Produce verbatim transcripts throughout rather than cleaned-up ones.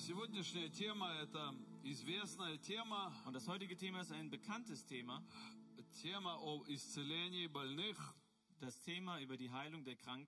Сегодняшняя тема – это известная тема. Und das heutige Thema ist ein bekanntes Thema. Тема о исцелении больных. Das Thema über die Heilung der Kranken.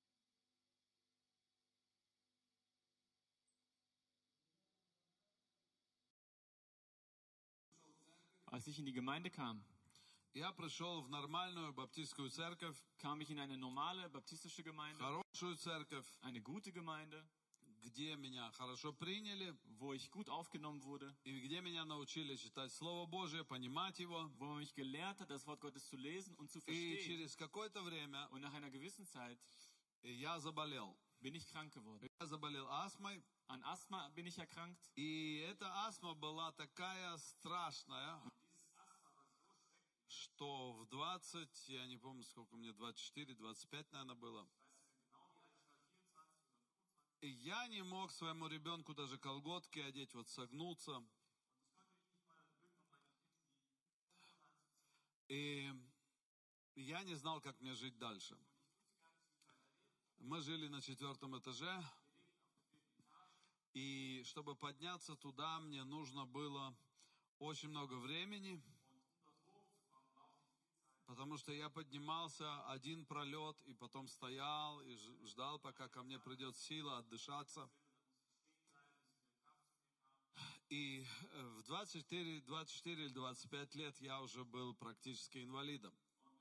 Als ich in die Gemeinde kam, Я пришел в нормальную баптистскую церковь, kam ich in eine normale baptistische Gemeinde, хорошую церковь, eine gute Gemeinde, где меня хорошо приняли, wo ich gut aufgenommen wurde, и где меня научили читать Слово Божие, понимать его. wo man mich gelehrt hat, das Wort Gottes zu lesen und zu И verstehen. через какое-то время Und nach einer gewissen Zeit я заболел. bin ich krank geworden. Я заболел астмой, An Asthma bin ich erkrankt. и эта астма была такая страшная, что в двадцать, я не помню, сколько мне, двадцать четыре, двадцать пять, наверное, было. И я не мог своему ребенку даже колготки одеть, вот согнуться. И я не знал, как мне жить дальше. Мы жили на четвертом этаже, и чтобы подняться туда, мне нужно было очень много времени, потому что я поднимался один пролет, и потом стоял и ждал, пока ко мне придет сила отдышаться. И в двадцать четыре, двадцать четыре или двадцать пять лет я уже был практически инвалидом.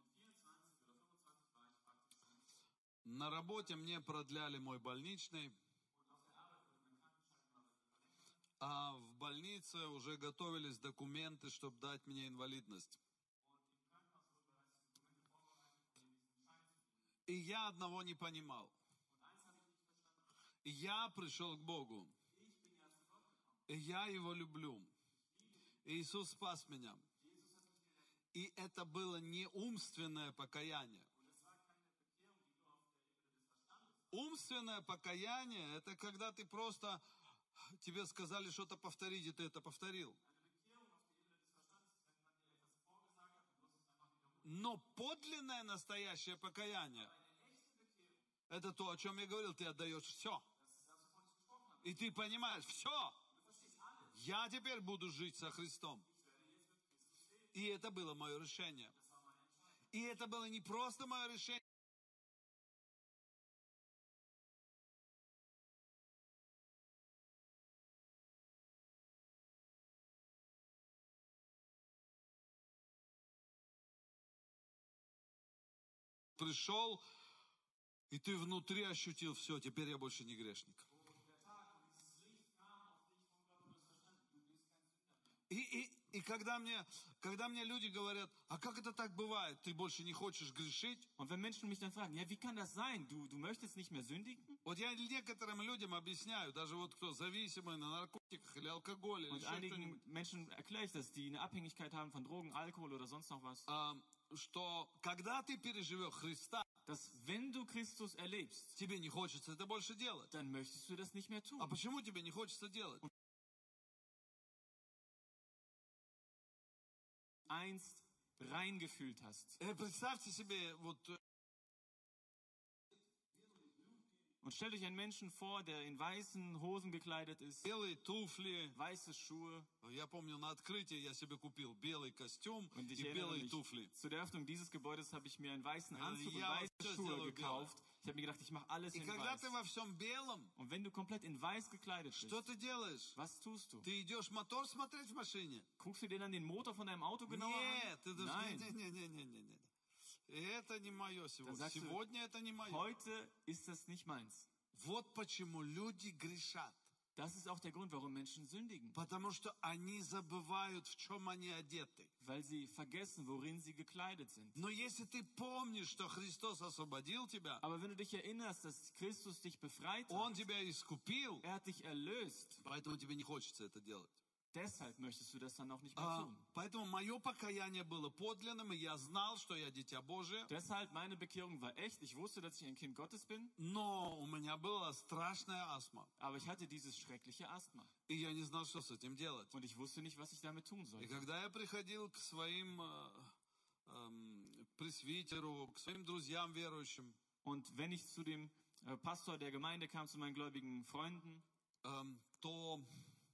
На работе мне продляли мой больничный, а в больнице уже готовились документы, чтобы дать мне инвалидность. И я одного не понимал. И я пришел к Богу. И я Его люблю. И Иисус спас меня. И это было не умственное покаяние. Умственное покаяние – это когда ты просто, тебе сказали что-то повторить, и ты это повторил. Но подлинное настоящее покаяние – это то, о чем я говорил, ты отдаешь все. И ты понимаешь, все, я теперь буду жить со Христом. И это было мое решение. И это было не просто мое решение. Пришел, и ты внутри ощутил, все, теперь я больше не грешник. И, и, и когда, мне, когда мне люди говорят, а как это так бывает, ты больше не хочешь грешить? Und wenn Menschen mich dann fragen, ja, wie kann das sein? Du, du möchtest nicht mehr sündigen? Вот я некоторым людям объясняю, даже вот кто зависимый на наркотиках или алкоголе, или Und еще einigen что-нибудь, Menschen erkläre ich das, die eine Abhängigkeit haben von Drogen, Alkohol oder sonst noch was. а, что когда ты переживешь Христа, Dass wenn du Christus erlebst, тебе не хочется это больше делать. dann möchtest du das nicht mehr А tun. почему тебе не хочется делать? Einst reingefühlt hast. Э, Представьте себе, вот Und stell dich einen Menschen vor, der in weißen Hosen gekleidet ist, белые туфли. weiße Schuhe. Я помню, на открытии я себе купил белый костюм Und ich и erinnere белые mich, туфли. zu der Öffnung dieses Gebäudes habe ich mir einen weißen Anzug und Ja, weiße das Schuhe ist gekauft. Ich habe mir gedacht, ich mache alles И in когда ты weiß. во всем белом, Und wenn du komplett in weiß gekleidet что bist, ты делаешь? was tust du? Ты идешь мотор смотреть в машине? Guckst du dir dann den Motor von deinem Auto genauer Нет, ты an? даже... Nein. Не, не, не, не, не. Это не мое Dann сегодня. sagst du, Сегодня это не мое. heute ist das nicht meins. Вот почему люди грешат. Das ist auch der Grund, warum Menschen sündigen. Потому что они забывают, в чем они одеты. Weil sie vergessen, worin sie gekleidet sind. Но если ты помнишь, что Христос освободил тебя, Aber wenn du dich erinnerst, dass Christus dich befreit Он hat, тебя искупил, er hat dich erlöst, поэтому тебе не хочется это делать. deshalb möchtest du das dann auch nicht mehr А, tun. поэтому мое покаяние было подлинным, и я знал, что я дитя Божие. Deshalb, meine Bekehrung war echt. Ich wusste, dass ich ein Kind Gottes bin, Но у меня была страшная астма, aber ich hatte dieses schreckliche Asthma. и я не знал, что с этим делать. Und ich wusste nicht, was ich damit tun И sollte. когда я приходил к своим э, э, пресвитеру, к своим друзьям верующим, Und wenn ich zu dem äh, Pastor der Gemeinde kam, zu meinen gläubigen Freunden, э, то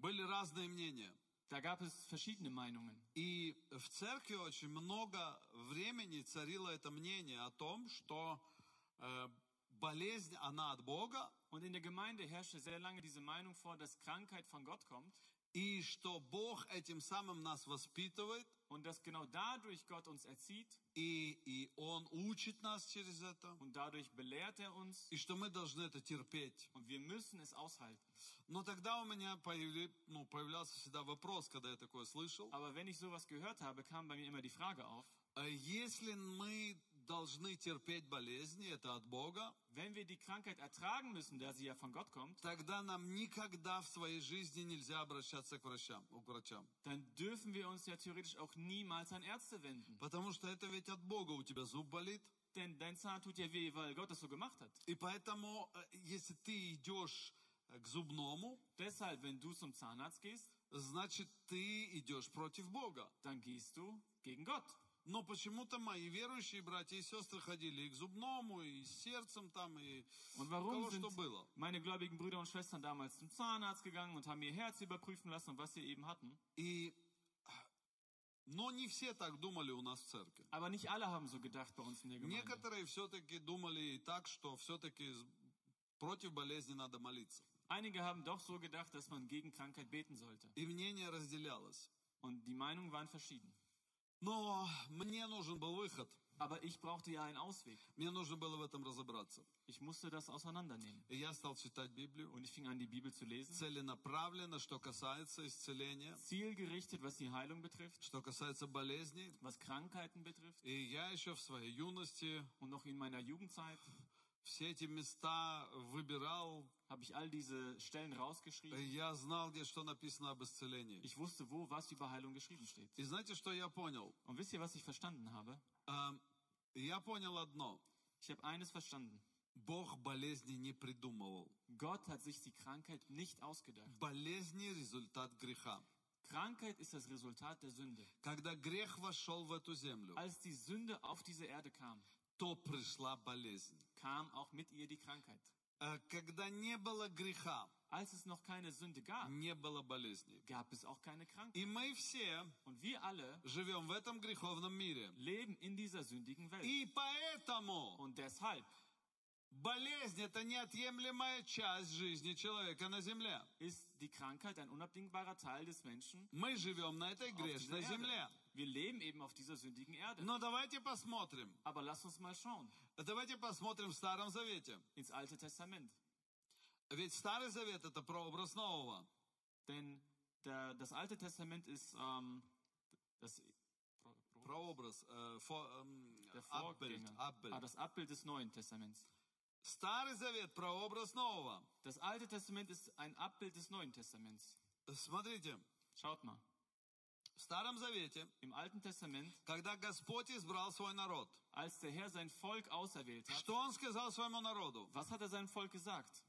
Были разные мнения. Da gab es verschiedene Meinungen. И в церкви очень много времени царило это мнение о том, что э, болезнь, она от Бога, Und in der Gemeinde herrschte sehr lange diese Meinung vor, dass Krankheit von Gott kommt и что Бог этим самым нас воспитывает, und dass genau dadurch Gott uns erzieht и, и Он учит нас через это, und dadurch belehrt er uns и что мы должны это терпеть. und wir müssen es aushalten. Но тогда у меня появли, ну, появлялся всегда вопрос, когда я такое слышал. Aber wenn ich sowas gehört habe, kam bei mir immer die Frage auf, э, Если мы должны терпеть болезни, это от Бога, wenn wir die Krankheit ertragen müssen, da sie ja von Gott kommt, тогда нам никогда в своей жизни нельзя обращаться к врачам, к врачам. dann dürfen wir uns ja theoretisch auch niemals an Ärzte wenden. Потому что это ведь от Бога, у тебя зуб болит. Denn dein Zahn tut ja weh, weil Gott es so gemacht hat. И поэтому, э, если ты идешь э, к зубному, Deshalb, wenn du zum Zahnarzt gehst, значит, ты идешь против Бога. dann gehst du gegen Gott. Но почему-то мои верующие братья и сестры ходили и к зубному, и с сердцем там, и Und у warum кого sind что было. meine gläubigen Brüder und Schwestern damals zum Zahnarzt gegangen und haben ihr Herz überprüfen lassen und was sie eben hatten? И, но не все так думали у нас в церкви. Aber nicht alle haben so gedacht bei uns in der Gemeinde. Некоторые все-таки думали и так, что все-таки против болезни надо молиться. Einige haben doch so gedacht, dass man gegen Krankheit beten sollte. И мнение разделялось. Und die Meinungen waren verschieden. Но мне нужен был выход. Aber ich brauchte ja einen Ausweg. Мне нужно было в этом разобраться. Ich musste das auseinandernehmen. И я стал читать Библию. Und ich fing an, die Bibel zu lesen. Целенаправленно, что касается исцеления, Zielgerichtet, was die Heilung betrifft, что касается болезней. was Krankheiten betrifft. И я еще в своей юности Und noch in meiner Jugendzeit все эти места выбирал. habe ich all diese Stellen rausgeschrieben. Я знал, где что написано об исцелении. Ich wusste, wo was über Heilung geschrieben steht. И знаете, что я понял? Und wisst ihr, was ich verstanden habe? А, Я понял одно. Ich habe eines verstanden. Бог болезни не придумывал. Gott hat sich die Krankheit nicht ausgedacht. Болезни – результат греха. Krankheit ist das Resultat der Sünde. Когда грех вошел в эту землю, Als die Sünde auf diese Erde kam, то пришла болезнь. kam auch mit ihr die Krankheit. А Когда не было греха, Als es noch keine Sünde gab, не было болезней. gab es auch keine Krankheit. И мы все Und wir alle живем в этом греховном мире. leben in dieser sündigen Welt. И поэтому Und deshalb болезнь – это неотъемлемая часть жизни человека на земле. ist die Krankheit ein unabdingbarer Teil des Menschen Мы живем на этой auf dieser грешной земле. Erde. Wir leben eben auf dieser sündigen Erde. Но давайте посмотрим. Aber lass uns mal schauen Давайте посмотрим в Старом Завете. ins Alte Testament. Ведь Старый Завет – это прообраз Нового. Denn der, das Alte Testament ist ähm, das, Pro, Pro, Прообраз, äh, vor, ähm, der Abbild, Vorgänger, Abbild. ah, das Abbild des Neuen Testaments. Старый Завет – прообраз Нового. Das Alte Testament ist ein Abbild des Neuen Testaments. Смотрите, Schaut mal, в Старом Завете, im Alten Testament, когда Господь избрал свой народ, als der Herr sein Volk auserwählt hat, что Он сказал своему народу? was hat er seinem Volk gesagt?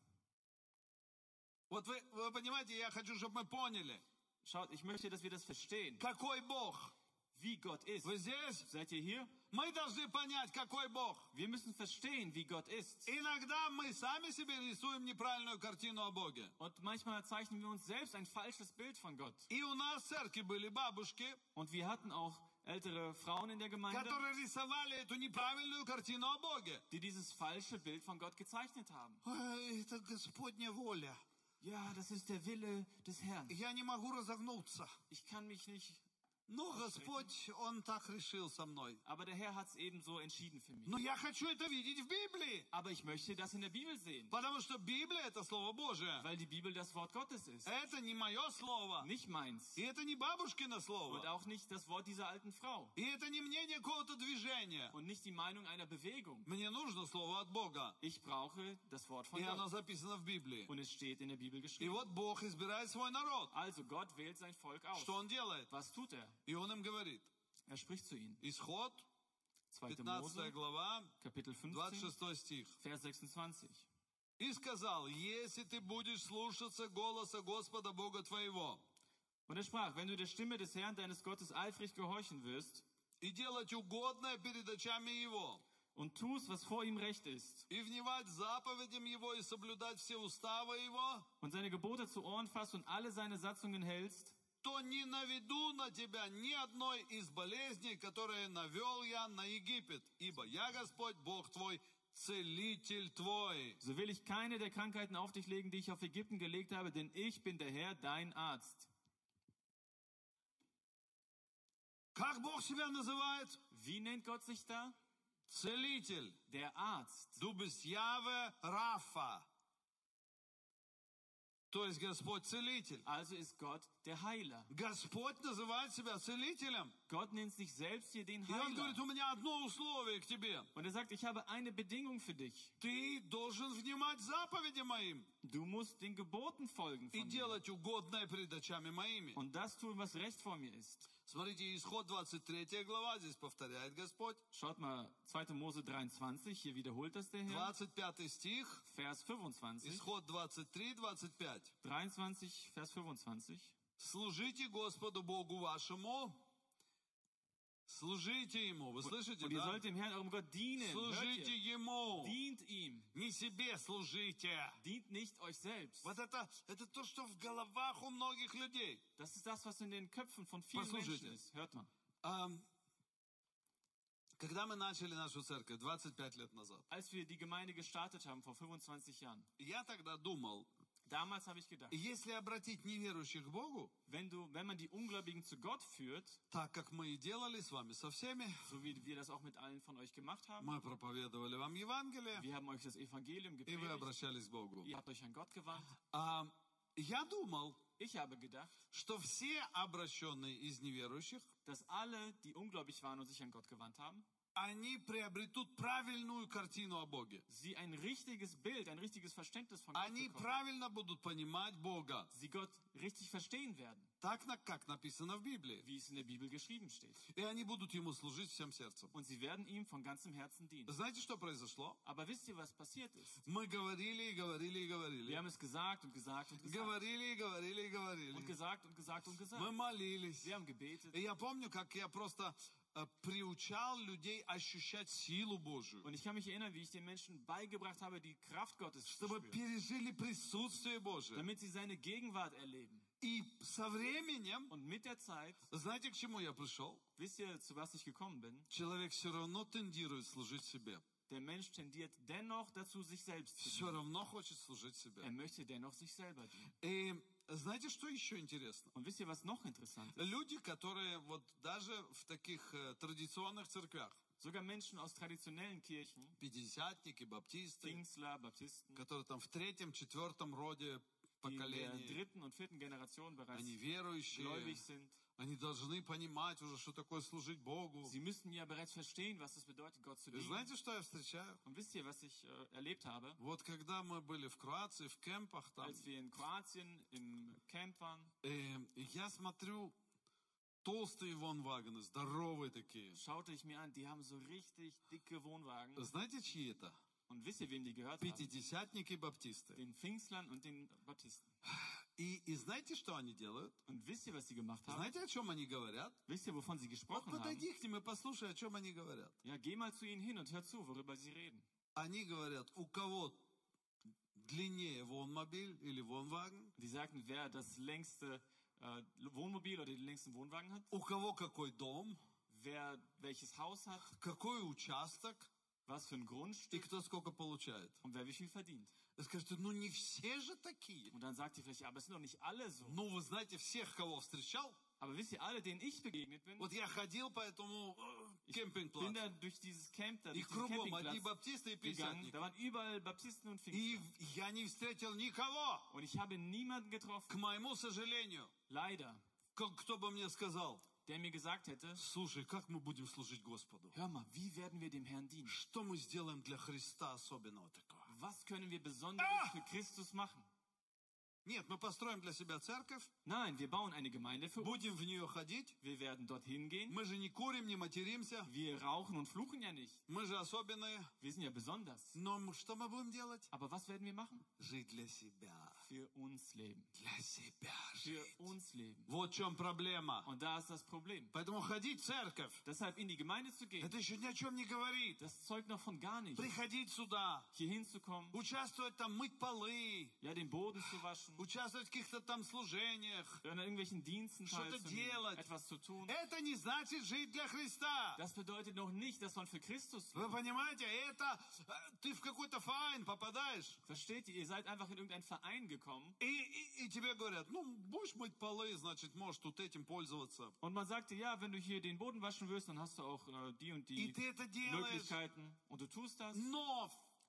Вот вы, вы понимаете, я хочу, чтобы мы поняли, Schaut, ich möchte, dass wir das verstehen, какой Бог. wie Gott ist. Вы здесь? Seid ihr hier? Мы должны понять, какой Бог. Wir müssen verstehen, wie Gott ist. Иногда мы сами себе рисуем неправильную картину о Боге. Und manchmal zeichnen wir uns selbst ein falsches Bild von Gott. И у нас в церкви были бабушки, Und wir hatten auch ältere Frauen in der Gemeinde, которые рисовали эту неправильную картину о Боге. die dieses falsche Bild von Gott gezeichnet haben. Ой, это Господня воля. Ja, das ist der Wille des Herrn. Я не могу разогнуться. Ich kann mich nicht... Но Господь, Он так решил со мной. Aber der Herr hat es eben so entschieden für mich. Но я хочу это видеть в Библии. Aber ich möchte das in der Bibel sehen, Потому что Библия – это Слово Божие. weil die Bibel das Wort Gottes ist. Это не мое слово. Nicht meins. И это не бабушкино Und слово. auch nicht das Wort dieser alten Frau. И это не мнение какого-то движения. Und nicht die Meinung einer Bewegung. Мне нужно слово от Бога. Ich brauche das Wort von И оно Gott. записано в Библии. Und es steht in der Bibel И geschrieben. вот Бог избирает свой народ. Also Gott wählt sein Volk aus. Что Он делает? Was tut er? И Он им говорит. Er spricht zu ihnen. Исход, zweite пятнадцатая Mose, глава, Kapitel двадцать fünfzehn, шестой стих. Vers sechsundzwanzig. И сказал, если ты будешь слушаться голоса Господа Бога твоего Und er sprach, wenn du der Stimme des Herrn, deines Gottes, eifrig gehorchen wirst и делать угодное перед очами Его, und tust, was vor ihm recht ist, и внимать заповедям Его, и соблюдать все уставы Его, und seine Gebote zu Ohren fasst und alle seine Satzungen hältst, то не наведу на тебя ни одной из болезней, которые навел я на Египет, ибо я Господь, Бог твой, Целитель твой. so will ich keine der Krankheiten auf dich legen, die ich auf Ägypten gelegt habe, denn ich bin der Herr, dein Arzt. Как Бог себя называет? Wie nennt Gott sich da? Целитель. Der Arzt. Du bist Jahwe Rapha. То есть Господь Целитель. Also ist Gott der Heiler. Господь называет себя Целителем. Gott nennt sich selbst hier den И Он говорит, Heiler. у меня одно условие к тебе. Und er sagt, ich habe eine Bedingung für dich. Ты должен внимать заповедям моим Du musst den Geboten folgen и von mir. делать угодное пред очами моими. Und das tun, was recht vor mir ist. Смотрите, Исход двадцать третья глава, здесь повторяет Господь. Schaut mal, zweiter Mose dreiundzwanzig, hier wiederholt das der Herr. двадцать пятый стих, Vers fünfundzwanzig. Исход двадцать три двадцать пять. dreiundzwanzig, Vers fünfundzwanzig. Служите Господу Богу вашему. Служите Ему. Вы слышите, Und ihr да? sollt dem Herrn, eurem Gott, dienen. Hört Служите ihr? Ему. Dient ihm. Не себе служите. Dient nicht euch selbst. Вот это, это то, что в головах у многих людей. Das ist das, was in den Köpfen von vielen Послушайте. Menschen ist. Hört mal. Ам, Когда мы начали нашу церковь двадцать пять лет назад, Als wir die Gemeinde gestartet haben, vor fünfundzwanzig Jahren, я тогда думал, damals habe ich gedacht, если обратить неверующих к Богу, wenn, du, wenn man die Ungläubigen zu Gott führt, так как мы и делали с вами со всеми, so wie wir das auch mit allen von euch gemacht haben, мы проповедовали вам Евангелие, wir haben euch das Evangelium и вы gepredigt, обращались к Богу. ihr habt euch an Gott gewandt. А, я думал, Ich habe gedacht, что все обращенные из неверующих, dass alle, die ungläubig waren und sich an Gott gewandt haben, они приобретут правильную картину о Боге. sie ein richtiges Bild, ein richtiges Verständnis von Gott Они bekommen. правильно будут понимать Бога, Sie Gott richtig verstehen werden, так, на- как написано в Библии. wie es in der Bibel geschrieben steht. И они будут Ему служить всем сердцем. Und sie werden ihm von ganzem Herzen dienen. Знаете, что произошло? Aber wisst ihr, was passiert ist? Мы говорили и говорили и Wir говорили. haben es gesagt und gesagt und gesagt. Говорили и говорили и Und говорили. gesagt und gesagt und Мы gesagt. молились. Wir haben gebetet. И я помню, как я просто э, приучал людей ощущать силу Божию. Und ich kann mich erinnern, wie ich den Menschen beigebracht habe, die Kraft Gottes zu Чтобы spüren, пережили присутствие Божие. damit sie seine Gegenwart erleben. И со временем, Und mit der Zeit, знаете, к чему я пришел? wisst ihr, zu was ich gekommen bin? Человек все равно тендирует служить себе. Der Mensch tendiert dennoch dazu, sich selbst zu Все dienen. равно хочет служить себе. Er möchte dennoch sich selber dienen. И знаете, что еще интересно? Und wisst ihr, was noch interessant ist? Люди, которые вот даже в таких э, традиционных церквях, Sogar Menschen aus traditionellen Kirchen, пятидесятники, баптисты, Pfingstler, Baptisten, которые там в третьем, четвертом роде die in der поколении, dritten und vierten Generation bereits они верующие, gläubig sind. они должны понимать уже, что такое служить Богу. Sie müssen ja bereits verstehen, was es bedeutet, Gott zu И dienen. знаете, что я встречаю? Und wisst ihr, was ich äh, erlebt habe? Вот когда мы были в Кроации, в кемпах там, Als wir in Kroatien im Camp waren, э, я смотрю, толстые вонвагоны, здоровые такие. schaute ich mir an, die haben so richtig dicke Wohnwagen. Знаете, чьи это? Und wisst ihr, wem die gehört haben? Пятидесятники, баптисты. Den Pfingstlern und den Baptisten. И, и знаете, что они делают? Und wisst ihr, was sie gemacht haben? Знаете, о чем они говорят? Wisst ihr, wovon sie Вот gesprochen haben? подойди к ним и послушай, о чем они говорят. Ja, geh mal zu ihnen hin und hör zu, worüber sie reden. Они говорят, у кого длиннее вонмобиль или вонваген, Die sagten, wer das längste äh, Wohnmobil oder den längsten Wohnwagen hat, у кого какой дом, wer welches Haus hat, какой участок was für ein и Grundstück кто сколько получает. und wer wie viel verdient. Вы скажете, ну не все же такие. Und dann sagt ihr vielleicht, ja, aber es sind doch nicht alle so. Ну, вы знаете, всех, кого встречал. Aber wisst ihr, alle, denen ich begegnet bin, Вот я ходил по этому э, ich bin кемпинг-плацу. da durch dieses Camp, da, И durch diesen кругом одни Campingplatz баптисты и gegangen. пятидесятники. Da waren überall Baptisten und И Pfingstler. я не встретил никого, Und ich habe niemanden к getroffen, моему сожалению, leider, к- кто бы мне сказал, der mir gesagt hätte, слушай, как мы будем служить Господу? hör mal, wie werden wir dem Herrn dienen? Что мы сделаем для Христа особенного такого? Was können wir Besonderes für Christus machen? Нет, мы построим для себя церковь, Nein, wir bauen eine Gemeinde für uns. будем в нее ходить. Wir werden dorthin gehen. Мы же не курим, не материмся. Wir rauchen und fluchen ja nicht. Мы же особенные. Wir sind ja besonders. Но м- что мы будем делать? Aber was werden wir machen? Жить для себя. für uns leben. Для себя Für жить. uns leben. Вот в чем проблема. Und da ist das Problem. Поэтому ходить в церковь, Deshalb in die Gemeinde zu gehen, это еще ни о чем не говорит. das zeugt noch von gar nichts. Приходить сюда, Hier hinzukommen, участвовать там, мыть полы, ja, den Boden zu waschen, участвовать в каких-то там служениях. an irgendwelchen Diensten Что-то teilzunehmen, делать. etwas zu tun. Это не значит жить для Христа. Das bedeutet noch nicht, dass man für Christus Вы lebt. понимаете, это э, ты в какой-то файн попадаешь, Versteht ihr? Ihr seid einfach in irgendeinen Verein gekommen и, и, и тебе говорят, ну, будешь мыть полы, значит, можешь тут этим пользоваться. und man sagt dir, ja, wenn du hier den Boden waschen willst, dann hast du auch äh, die und И die ты это делаешь, Möglichkeiten und du tust das. но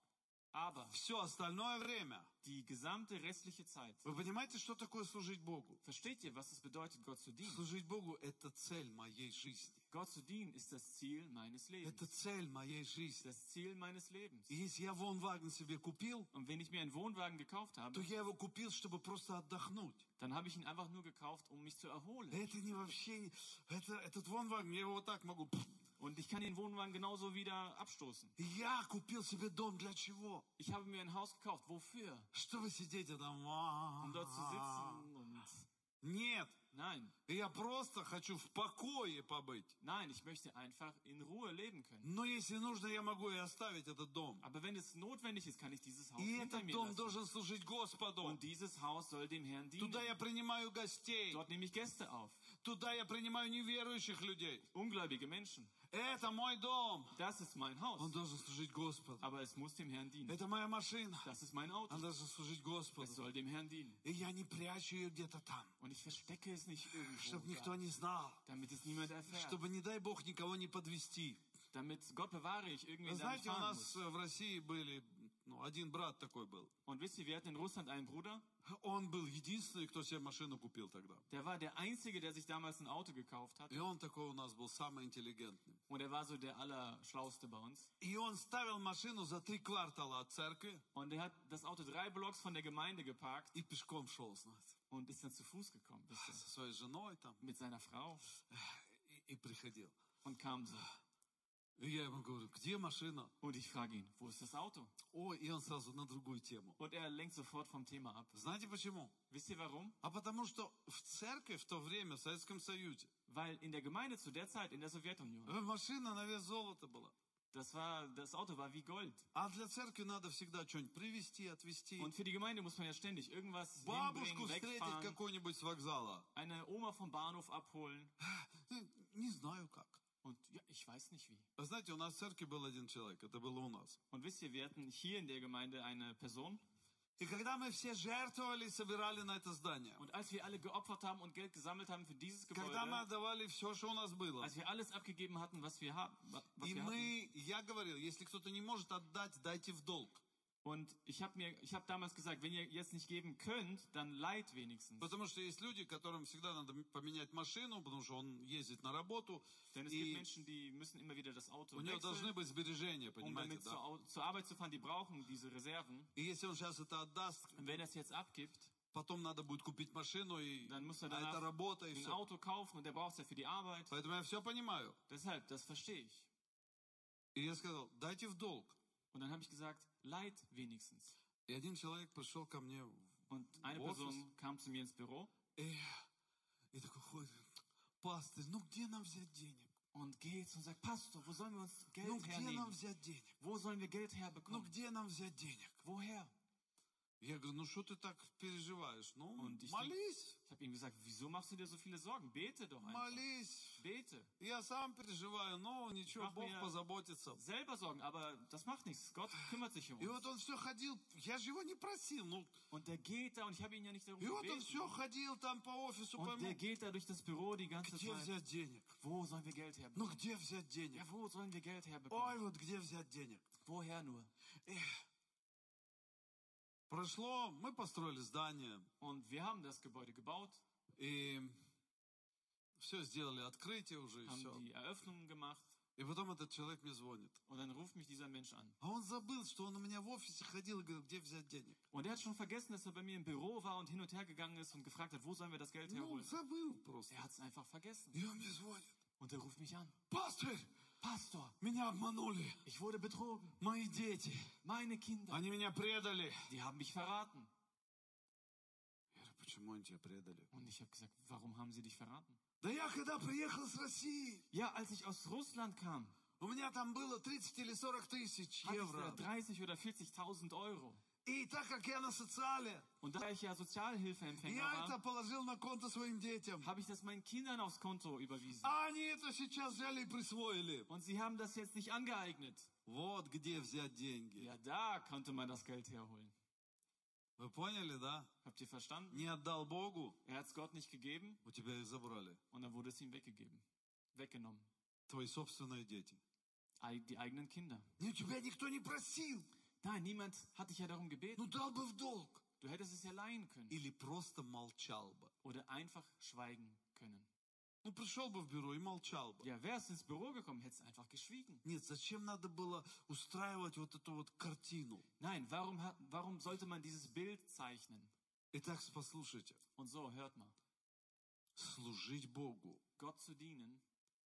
Aber все остальное время. die gesamte restliche Zeit, Вы понимаете, что такое служить Богу? versteht ihr, was es bedeutet, Gott zu dienen? Служить Богу – это цель моей жизни. Gott zu dienen ist das Ziel meines Lebens. Это цель моей жизни. Das Ziel meines Lebens. И если я Волнваген себе купил, Und wenn ich mir einen Wohnwagen gekauft то habe, я его купил, чтобы просто отдохнуть. dann habe ich ihn einfach nur gekauft, um mich zu erholen. Это не вообще... не- Это, этот Волнваген, я его вот так могу... Und ich kann den Wohnwagen genauso wieder abstoßen. Я купил себе дом для чего? Ich habe mir ein Haus gekauft. Wofür? Чтобы сидеть там... Um dort zu sitzen und... Нет. Nein, Я просто хочу в покое побыть. nein, ich möchte einfach in Ruhe leben können. Но если нужно, я могу и оставить этот дом. Aber wenn es notwendig ist, kann ich dieses Haus И hinter этот mir дом lassen. должен служить Господу. Und dieses Haus soll dem Herrn dienen. Туда я принимаю гостей. Dort nehme ich Gäste auf. Туда я принимаю неверующих людей. Ungläubige Menschen. Это мой дом. Das ist mein Haus. Он должен служить Господу. Aber es muss dem Herrn dienen. Это моя машина. Das ist mein Auto. Он должен служить Es Господу. soll dem Herrn dienen. И я не прячу ее где-то там, Und ich verstecke es nicht чтобы irgendwo, никто da, не знал. damit es niemand erfährt. Чтобы, не дай Бог, никого не подвести. Damit, Gott bewahre ich, irgendwie Вы da nicht знаете, у fahren нас muss. э, в России были, ну, один брат такой был. Und wisst ihr, wir hatten in Russland einen Bruder, Он был единственный, кто себе машину купил тогда. der war der Einzige, der sich damals ein Auto gekauft hat. И он такой у нас был самый интеллигентный. Und er war so der Allerschlauste bei uns. И он ставил машину за три квартала от церкви Und er hat das Auto drei Blocks von der Gemeinde geparkt и пешком шел, знаете, und ist dann zu Fuß gekommen, wisst ihr, со своей женой там. mit seiner Frau И, и приходил. und kam so. И я ему говорю, где машина? Und ich frage ihn, wo ist das Auto? Ой, и он сразу на другую тему. Und er lenkt sofort vom Thema ab. Знаете почему? Wisst ihr warum? А потому что в церкви в то время, в Советском Союзе, Weil in der Gemeinde zu der Zeit, in der Sowjetunion, э, машина на вес золота была. das war, das Auto war wie Gold. А для церкви надо всегда что-нибудь привезти, отвезти. Und für die Gemeinde muss man ja ständig irgendwas Бабушку hinbringen, встретить wegfahren, какую-нибудь с вокзала. eine Oma vom Bahnhof abholen. Э, Не знаю как. Und ja, ich weiß nicht wie. Вы знаете, у нас в церкви был один человек, это было у нас. Und wisst ihr, wir hatten hier in der Gemeinde eine Person. И когда мы все жертвовали, собирали на это здание, Und als wir alle geopfert haben und Geld gesammelt haben für dieses когда мы Gebäude, отдавали все, что у нас было, als wir alles abgegeben hatten, was wir, haben, was и wir hatten. мы, я говорил, если кто-то не может отдать, дайте в долг. Und ich habe mir, ich habe damals gesagt, wenn ihr jetzt nicht geben könnt, dann leiht wenigstens. Потому что есть люди, которым всегда надо поменять машину, потому что он ездит на работу, Denn es gibt и Menschen, die müssen immer wieder das Auto у него должны wechseln, быть сбережения, um понимаете, damit zur, да? Au- zur Arbeit zu fahren. Die brauchen diese Reserven. И если он сейчас это отдаст, Und wenn er es jetzt abgibt, потом надо будет купить машину, и dann muss er а это danach работа, и ein все. Auto kaufen und der braucht es ja für die Arbeit. Поэтому я все понимаю. Deshalb, das verstehe ich. И я сказал, дайте в долг. Und dann habe ich gesagt, leiht wenigstens. И один человек пришел ко мне Und eine в офис, Person kam zu mir ins Büro и, и такой ходит, пастырь, ну где нам взять денег? und geht und sagt, Pastor, wo sollen wir uns Geld Ну где нам hernehmen? взять денег? Wo sollen wir Geld Ну herbekommen? где нам взять денег? Woher? Я говорю, ну что ты так переживаешь? Ну, Und ich, молись, ich habe ihm gesagt, wieso machst du dir so viele Sorgen? Bete doch einfach. молись. Bete. Я сам переживаю, но ничего, Mach Бог mir позаботится. selber Sorgen, aber das macht nichts. Gott kümmert sich um И uns. вот он все ходил, я же его не просил, ну, Und der geht da und ich habe ihn ja nicht darum и вот он gebeten. все ходил там по офису, Und der пойму, geht da durch das Büro die ganze где Zeit. взять денег? Wo sollen wir Geld Ну herbekommen? где взять денег? Ja, wo sollen wir Geld Ой, herbekommen? вот где взять денег? Woher nur? Прошло, мы построили здание, Und wir haben das Gebäude gebaut, и все сделали, открытие уже, и haben все. die Eröffnungen gemacht И потом этот человек мне звонит. und dann ruft mich dieser Mensch an. А он забыл, что он у меня в офисе ходил и говорил, где взять денег. Und er hat schon vergessen, dass er bei mir im Büro war und hin und her gegangen ist und gefragt hat, wo sollen wir das Geld Ну, herholen? забыл просто. Er hat es einfach vergessen. И он мне звонит. Und er ruft mich an. Пастырь, Pastor, меня обманули. ich wurde betrogen. Мои дети, Meine Kinder, они меня предали. die haben mich verraten. почему они тебя предали? Und ich habe gesagt, warum haben sie dich verraten? Да я когда приехал с России, Ja, als ich aus Russland kam, у меня там было тридцать или сорок тысяч hatte ich da евро. dreißig oder vierzigtausend Euro. И так как я на социале, Und da ich ja Sozialhilfeempfänger я это war, положил на конто своим детям. habe ich das meinen Kindern aufs Konto überwiesen. А они это сейчас взяли и присвоили. Und sie haben das jetzt nicht angeeignet. Вот где взять деньги. Ja, da konnte man das Geld herholen. Вы поняли, да? Habt ihr verstanden? Не отдал Богу, Er hat es Gott nicht gegeben у тебя их забрали. und dann wurde es ihm weggegeben. Weggenommen. Твои собственные дети. Ei- Die eigenen Kinder. Ну, тебя никто не просил. Nein, niemand hat dich ja darum gebeten. Ну, дал бы в долг. Du hättest es ja leihen können. Или просто молчал бы. Oder einfach schweigen können. Ну, пришел бы в бюро и молчал бы. Ja, wärst ins Büro gekommen, hättest einfach geschwiegen. Нет, зачем надо было устраивать вот эту вот картину? Nein, warum, hat, warum sollte man dieses Bild zeichnen? Итак, послушайте. Und so, hört mal. Служить Богу Gott zu dienen,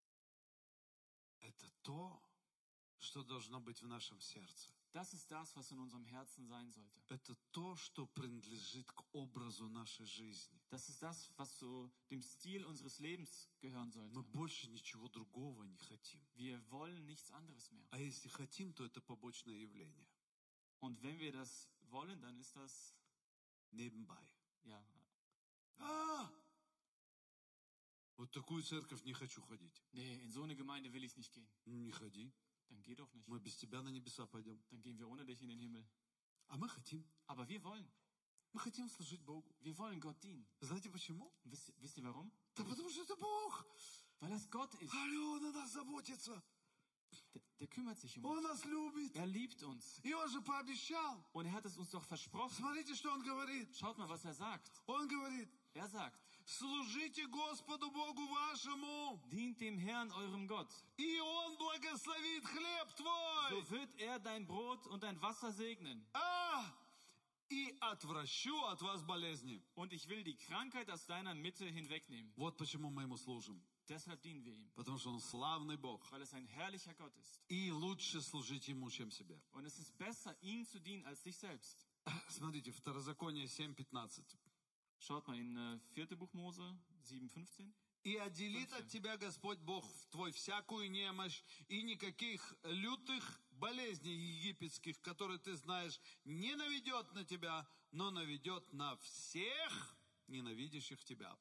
– это то, что должно быть в нашем сердце. das ist das, was in unserem Herzen sein sollte. Это то, что принадлежит к образу нашей жизни. Das ist das, was zu dem Stil unseres Lebens gehören sollte. Мы больше ничего другого не хотим. Wir wollen nichts anderes mehr. А если хотим, то это побочное явление. Und wenn wir das wollen, dann ist das, Nebenbei. ja, А! Вот такую церковь не хочу ходить. nee, in so eine Gemeinde will ich nicht gehen. Ну, не ходи. Dann geh doch nicht. Мы без тебя на небеса пойдем. Dann gehen wir ohne dich in den Himmel. А мы хотим. Aber wir wollen. Мы хотим служить Богу. Wir wollen Gott dienen. Знаете почему? Wisst, wisst ihr warum? Да потому что это Бог. Weil das Gott ist. Алло, Он о нас заботится. Der, der kümmert sich um Он uns. нас любит. Er liebt uns. И Он же пообещал. Und er hat es uns doch versprochen. Смотрите, что Он говорит. Schaut mal, was er sagt. Он говорит, Er sagt, служите Господу Богу вашему, dient dem Herrn, eurem Gott. и Он благословит хлеб твой. So wird er dein Brot und dein Wasser segnen. А, и отвращу от вас болезни. Und ich will die Krankheit aus deiner Mitte hinwegnehmen. Вот почему мы Ему служим. Deshalb dienen wir ihm. Потому что Он славный Бог. Weil es ein herrlicher Gott ist. И лучше служить Ему, чем себе. Und es ist besser, ihm zu dienen, als sich selbst. Смотрите, Второзаконие семь пятнадцать. Schaut mal in äh, vierte Buch Mose sieben fünfzehn. «И отделит от тебя Господь Бог твой всякую немощь, и никаких лютых болезней египетских, которые ты знаешь, не наведет на тебя, но наведет на всех ненавидящих тебя».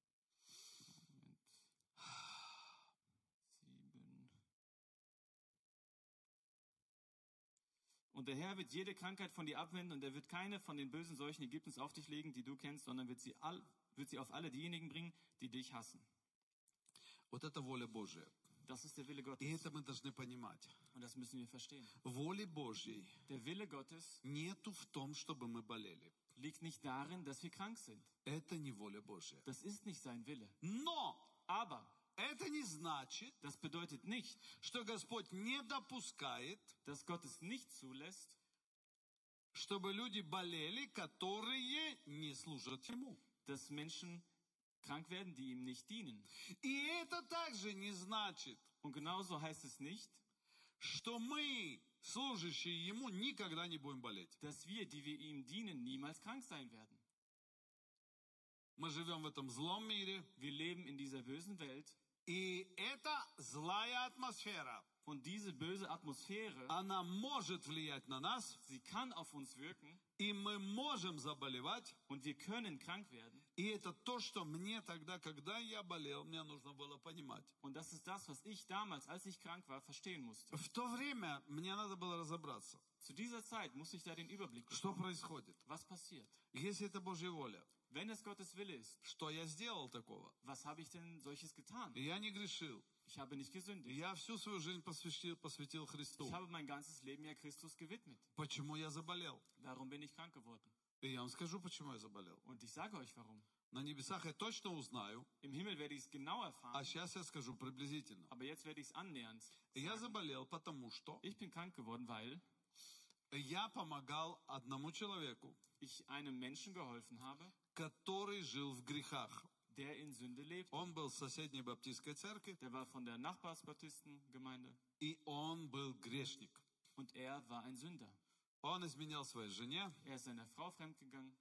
Und der Herr wird jede Krankheit von dir abwenden und er wird keine von den bösen Seuchen Ägyptens auf dich legen, die du kennst, sondern wird sie, all, wird sie auf alle diejenigen bringen, die dich hassen. Вот это воля Божия. Das ist der Wille Gottes. И это мы должны понимать. Und das müssen wir verstehen. Воли Божьей Der Wille Gottes нету в том, чтобы мы болели. liegt nicht darin, dass wir krank sind. Это не воля Божья. Das ist nicht sein Wille. Но Aber это не значит, das bedeutet nicht, что Господь не допускает, dass Gott es nicht zulässt, чтобы люди болели, которые не служат Ему. dass Menschen krank werden, die ihm nicht dienen. И это также не значит, Und genauso heißt es nicht, что мы, служащие Ему, никогда не будем болеть. dass wir, die wir ihm dienen, niemals krank sein werden. Мы живем в этом злом мире, Wir leben in dieser bösen Welt и эта злая атмосфера, und diese böse Atmosphäre, она может влиять на нас, sie kann auf uns wirken и мы можем заболевать. und wir können krank werden. И это то, что мне тогда, когда я болел, мне нужно было понимать. Und das ist das, was ich damals, als ich krank war, verstehen musste. В то время мне надо было разобраться, Zu dieser Zeit musste ich da den Überblick что bekommen. происходит. Was passiert? Если это Божья воля, Wenn es Gottes Wille ist, что я сделал такого? was habe ich denn solches getan? Я не грешил. Ich habe nicht gesündigt. Я всю свою жизнь посвятил, посвятил Христу. Ich habe mein ganzes Leben ja Christus gewidmet. Почему я заболел? Darum bin ich krank geworden. И я вам скажу, почему я заболел. Und ich sage euch warum. На небесах я точно узнаю, Im Himmel werde ich es genau а erfahren, сейчас я скажу приблизительно. aber jetzt werde ich es annähernd Я sagen. заболел, потому что Ich bin krank geworden, weil я помогал одному человеку, ich einem Menschen geholfen habe, который жил в грехах. der in Sünde lebt. Он был в соседней баптистской церкви, Der war von der Nachbarsbaptistengemeinde и он был грешник. und er war ein Sünder. Он изменял своей жене, Er ist seiner Frau fremdgegangen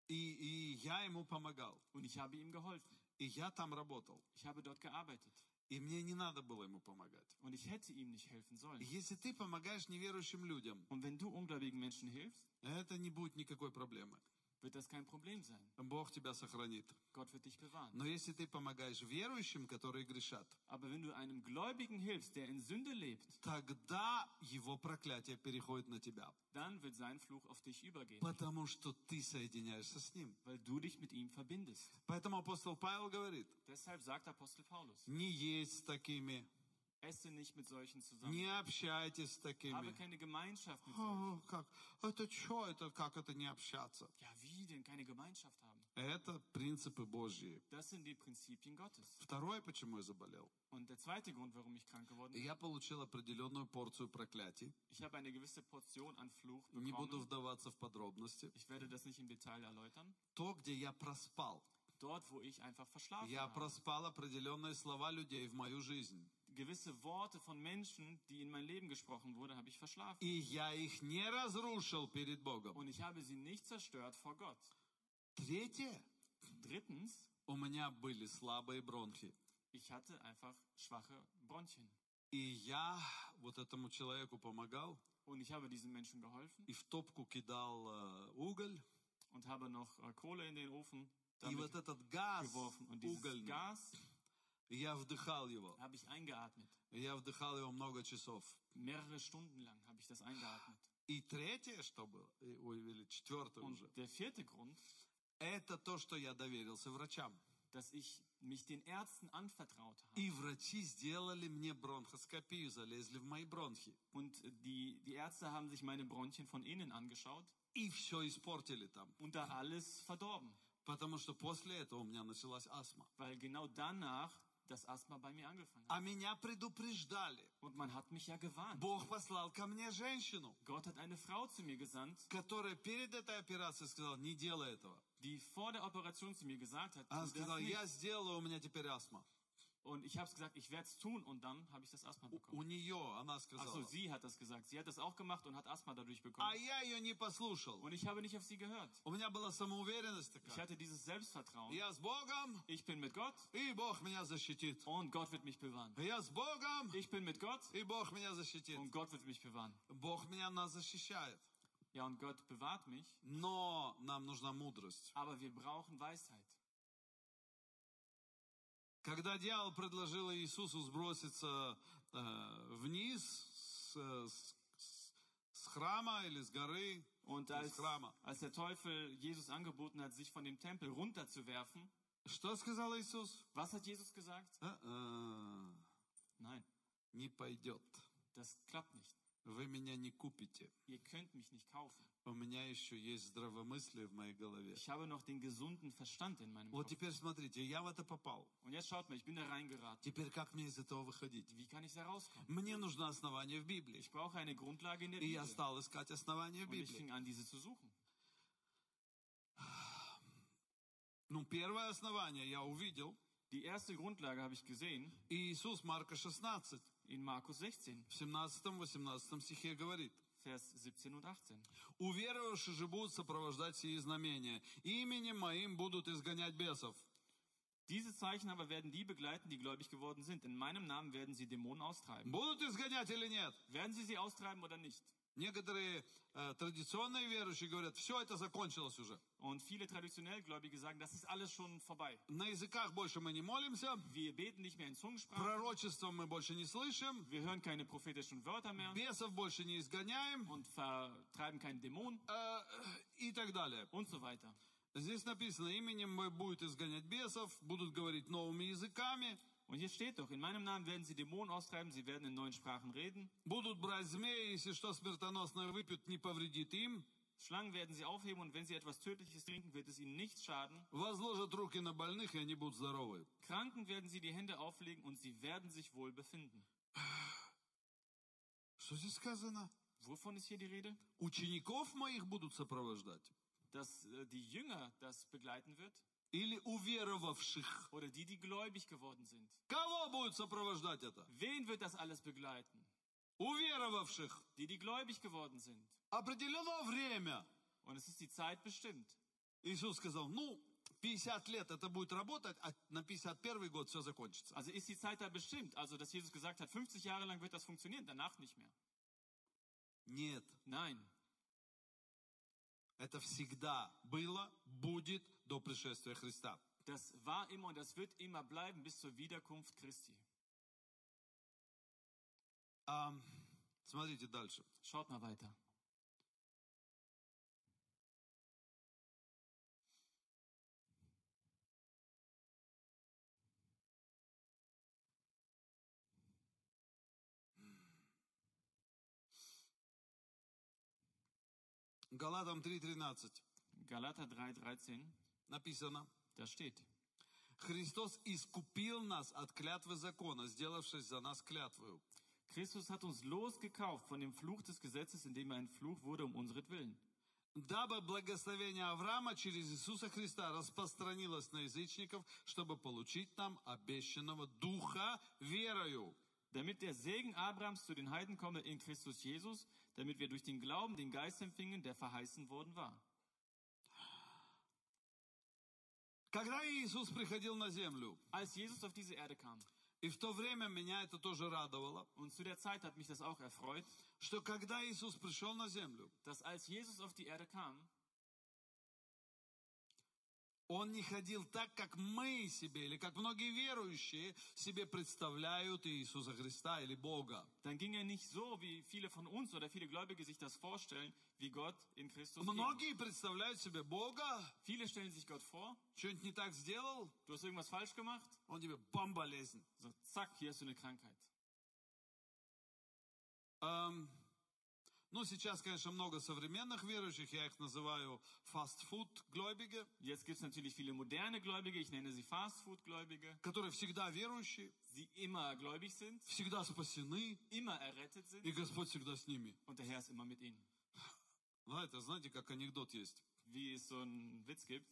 И, и я ему помогал. Und ich habe ihm geholfen. И я там работал. Ich habe dort gearbeitet. И мне не надо было ему помогать. Und ich hätte ihm nicht helfen sollen. Если ты помогаешь неверующим людям, Und wenn du ungläubigen Menschen hilfst, это не будет никакой проблемы. wird das kein Problem sein. Бог тебя сохранит. Gott wird dich bewahren. Но если ты помогаешь верующим, которые грешат, Aber wenn du einem Gläubigen hilfst, der in Sünde lebt, тогда его проклятие переходит на тебя. dann wird sein Fluch auf dich übergehen, Потому что ты соединяешься с ним. weil du dich mit ihm verbindest. Поэтому апостол Павел говорит, Deshalb sagt Apostel Paulus, не есть с такими, esse nicht mit solchen zusammen. не общайтесь с Habe такими. keine Gemeinschaft mit solchen. О, как? Это что это? Как это не общаться? Ja, wie denn keine Gemeinschaft haben? Это принципы Божьи. Das sind die Prinzipien Gottes. Второе, почему я заболел. Und der zweite Grund, warum ich krank geworden bin, Я получил определенную порцию проклятий. ich habe eine gewisse Portion an Fluch Не буду bekommen. вдаваться в подробности. Ich werde das nicht im Detail erläutern. То, где я проспал. Dort, wo ich einfach verschlafen Я habe. проспал определенные слова людей в мою жизнь. Gewisse Worte von Menschen, die in mein Leben gesprochen wurden, habe ich verschlafen. И я их не разрушил перед Богом. Und ich habe sie nicht zerstört vor Gott. Третье. Drittens, У меня были слабые бронхи. ich hatte einfach schwache Bronchien. И я вот этому человеку помогал. Und ich habe diesen Menschen geholfen И в топку кидал э, уголь. und habe noch äh, Kohle in den Ofen И damit вот этот газ geworfen. Und dieses угольный, Gas я вдыхал его. habe ich eingeatmet. Я вдыхал его много часов. Mehrere Stunden lang habe ich das eingeatmet. И третье, что было, и- ой, или четвертое уже, Und der vierte Grund, это то, что я доверился врачам. dass ich mich den Ärzten anvertraut habe. И врачи сделали мне бронхоскопию, залезли в мои бронхи. Und die, die Ärzte haben sich meine Bronchien von innen angeschaut И все испортили там. und da alles verdorben. Потому что после этого у меня началась астма. Weil genau danach das Asthma bei mir angefangen А hat. меня предупреждали. Und man hat mich ja gewarnt. Бог послал ко мне женщину, Gott hat eine Frau zu mir gesandt, которая перед этой операцией сказала, не делай этого. die vor der Operation zu mir gesagt hat, Она tu das сказала, nicht. я сделаю, у меня теперь астма. Und ich habe gesagt, ich werde es tun und dann habe ich das Asthma У bekommen. нее, она Achso, сказала. sie hat das gesagt. Sie hat das auch gemacht und hat Asthma dadurch А bekommen. я ее не послушал. Und ich habe nicht auf sie gehört. У меня была самоуверенность Ich такая. hatte dieses Selbstvertrauen. Я с Богом, Ich bin mit Gott и Бог меня защитит. und Gott wird mich bewahren. Я с Богом, Ich bin mit Gott и Бог меня защитит. und Gott wird mich bewahren. Бог меня нас защищает. Ja, und Gott bewahrt mich, Но нам нужна мудрость. aber wir brauchen Weisheit. Когда дьявол предложил Иисусу сброситься э, вниз с, с- с храма или с горы, Und с als, храма, als der Teufel Jesus angeboten hat, sich von dem Tempel runterzuwerfen, что сказал Иисус? was hat Jesus gesagt? «А-а, Nein, не пойдет. das klappt nicht. Вы меня не купите. Ihr könnt mich nicht kaufen. У меня еще есть здравомыслие в моей голове». Ich habe noch den gesunden Verstand in meinem Вот Kopf. теперь смотрите, я в это попал. Und jetzt schaut mal, ich bin da reingeraten. Теперь как мне из этого выходить? Wie kann ich da rauskommen? Мне нужно основание в Библии. Ich brauche eine Grundlage in der И я Bibel. стал искать основание в Und ich Библии. fing an, diese zu suchen. Ну, первое основание я увидел. Die erste Grundlage habe ich gesehen И Иисус, Марка шестнадцать, in Markus sechzehn, в семнадцатом-восемнадцатом стихе говорит. Vers siebzehn und achtzehn. Уверовавшие же будут сопровождать сии знамения. Именем моим будут изгонять бесов. Diese Zeichen aber werden die begleiten, die gläubig geworden sind. In meinem Namen werden sie Dämonen austreiben. Будут изгонять или нет? Werden sie sie austreiben oder nicht? Некоторые э, традиционные верующие говорят, все это закончилось уже. Und viele traditionell Gläubige sagen, das ist alles schon vorbei. На языках больше мы не молимся, Wir beten nicht mehr in Zungensprache. пророчества мы больше не слышим, Wir hören keine prophetischen Wörter mehr бесов больше не изгоняем und vertreiben keinen Dämon э, и так далее. und so weiter. Здесь написано, именем мой будет изгонять бесов, будут говорить новыми языками, Und hier steht doch, in meinem Namen werden sie Dämonen austreiben, sie werden in neuen Sprachen reden. будут брать змеи, если что смертоносное выпьют, не повредит им, Schlangen werden sie aufheben und wenn sie etwas Tödliches trinken, wird es ihnen nichts schaden. возложат руки на больных, и они будут здоровы. Kranken werden sie die Hände auflegen und sie werden sich wohl befinden. Что здесь сказано? Wovon ist hier die Rede? Учеников моих будут сопровождать? Dass äh, die Jünger das begleiten wird Или уверовавших? oder die, die gläubig geworden sind. Кого будет сопровождать это? Wen wird das alles begleiten? Уверовавших. Die, die gläubig geworden sind. Определено время. Und es ist die Zeit bestimmt. Иисус сказал, ну, пятьдесят лет это будет работать, а на пятьдесят первый год все закончится. Also ist die Zeit da bestimmt. Also, dass Jesus gesagt hat, fünfzig Jahre lang wird das funktionieren, danach nicht mehr. Нет, Nein, это всегда было, будет до пришествия Христа. das war immer und das wird immer bleiben bis zur Wiederkunft Christi. А, смотрите дальше. Schaut mal weiter. Галатам три тринадцать Galater drei dreizehn, написано. da steht, Христос искупил нас от клятвы закона, сделавшись за нас клятвою. Christus hat uns losgekauft von dem Fluch des Gesetzes, indem er ein Fluch wurde um unseren Дабы благословение Авраама через Иисуса Христа распространилось на язычников, чтобы получить нам обещанного Духа верою. Damit der Segen Abrahams zu den Heiden komme in Christus Jesus, damit wir durch den Glauben den Geist empfingen, der verheißen worden war. Когда Иисус приходил на землю, Als Jesus auf diese Erde kam, и в то время меня это тоже радовало, und zu der Zeit hat mich das auch erfreut, что когда Иисус пришел на землю, dass als Jesus auf die Erde kam, Он не ходил так, как мы себе, или как многие верующие себе представляют Иисуса Христа или Бога. dann ging er nicht so, wie viele von uns oder viele Gläubige sich das vorstellen, wie Gott in Christus ging. Многие представляют себе Бога, Viele stellen sich Gott vor, что-нибудь не так сделал, du hast irgendwas falsch gemacht, Он тебе бам, болезнь. so zack, hier hast du eine Krankheit. Эм, ну, сейчас, конечно, много современных верующих, я их называю фастфуд-гläubige, Jetzt gibt es natürlich viele moderne Gläubige, ich nenne sie Fastfood-Gläubige, которые всегда верующие, die immer gläubig sind, всегда спасены, immer errettet sind и Господь всегда с ними. und der Herr ist immer mit ihnen. Ну, это, знаете, как анекдот есть. Wie es so einen Witz gibt,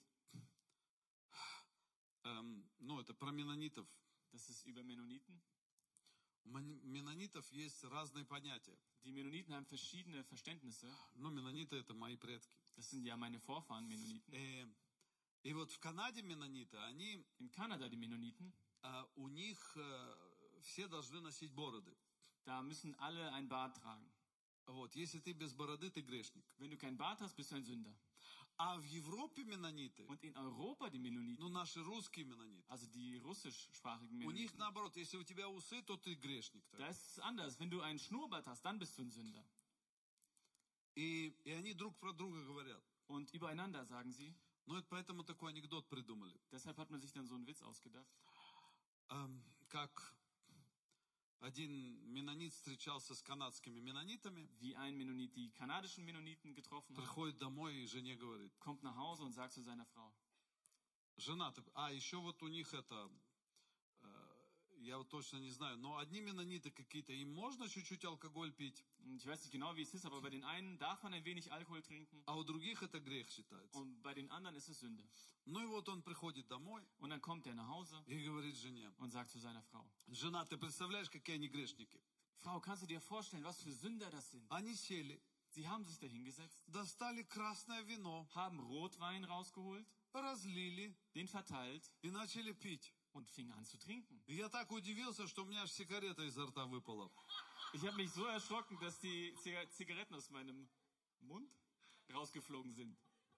Эм, ну, это про меннонитов. das ist über Mennoniten. У мен- меннонитов есть разные понятия. Die Mennoniten haben verschiedene Verständnisse. Ну, меннониты — это мои предки. Das sind ja meine Vorfahren, Mennoniten. Э, и вот в Канаде меннониты, они, In Kanada, die Mennoniten, э, у них э, все должны носить бороды. da müssen alle ein Bart tragen. Вот, если ты без бороды, ты грешник. Wenn du kein Bart hast, bist du ein Sünder. А в Европе меннониты, Und in Europa, die Mennoniten, ну, наши русские меннониты, also die russischsprachigen у них Mennoniten, наоборот, если у тебя усы, то ты грешник. da ist es anders. Wenn du einen Schnurrbart hast, dann bist du ein Sünder. И, и они друг про друга говорят. Und übereinander sagen sie. Ну, это поэтому такой анекдот придумали. Deshalb hat man sich dann so einen Witz ausgedacht. Эм, как один меннонит встречался с канадскими меннонитами, Wie ein Mennonit die kanadischen Mennoniten getroffen hat, приходит домой и жене говорит, kommt nach Hause und sagt zu seiner Frau, жена, ты- а еще вот у них это, э, я вот точно не знаю, но одни меннониты какие-то, им можно чуть-чуть алкоголь пить, und ich weiß nicht genau, wie es ist, aber bei den einen darf man ein wenig Alkohol trinken а у других это грех считается. und bei den anderen ist es Sünde. Ну и вот он приходит домой Und dann kommt er nach Hause и говорит жене, und sagt zu seiner Frau, жена, ты представляешь, какие они грешники? Frau, kannst du dir vorstellen, was für Sünder das sind? Они сели, Sie haben sich da hingesetzt, достали красное вино, haben Rotwein rausgeholt, разлили den verteilt и начали пить. und fingen an zu trinken. И я так удивился, что у меня аж сигарета изо рта выпала. Ich habe mich so erschrocken, dass die Ziga- Zigaretten aus meinem Mund rausgeflogen sind.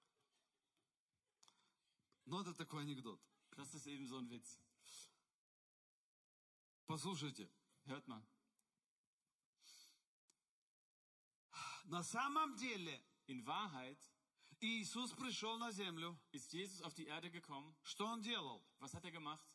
Но это такой анекдот. Das ist eben so ein Witz. Послушайте, Hört mal. на самом деле In Wahrheit Иисус пришел на землю. ist Jesus auf die Erde gekommen. Что Он делал? Was hat er gemacht?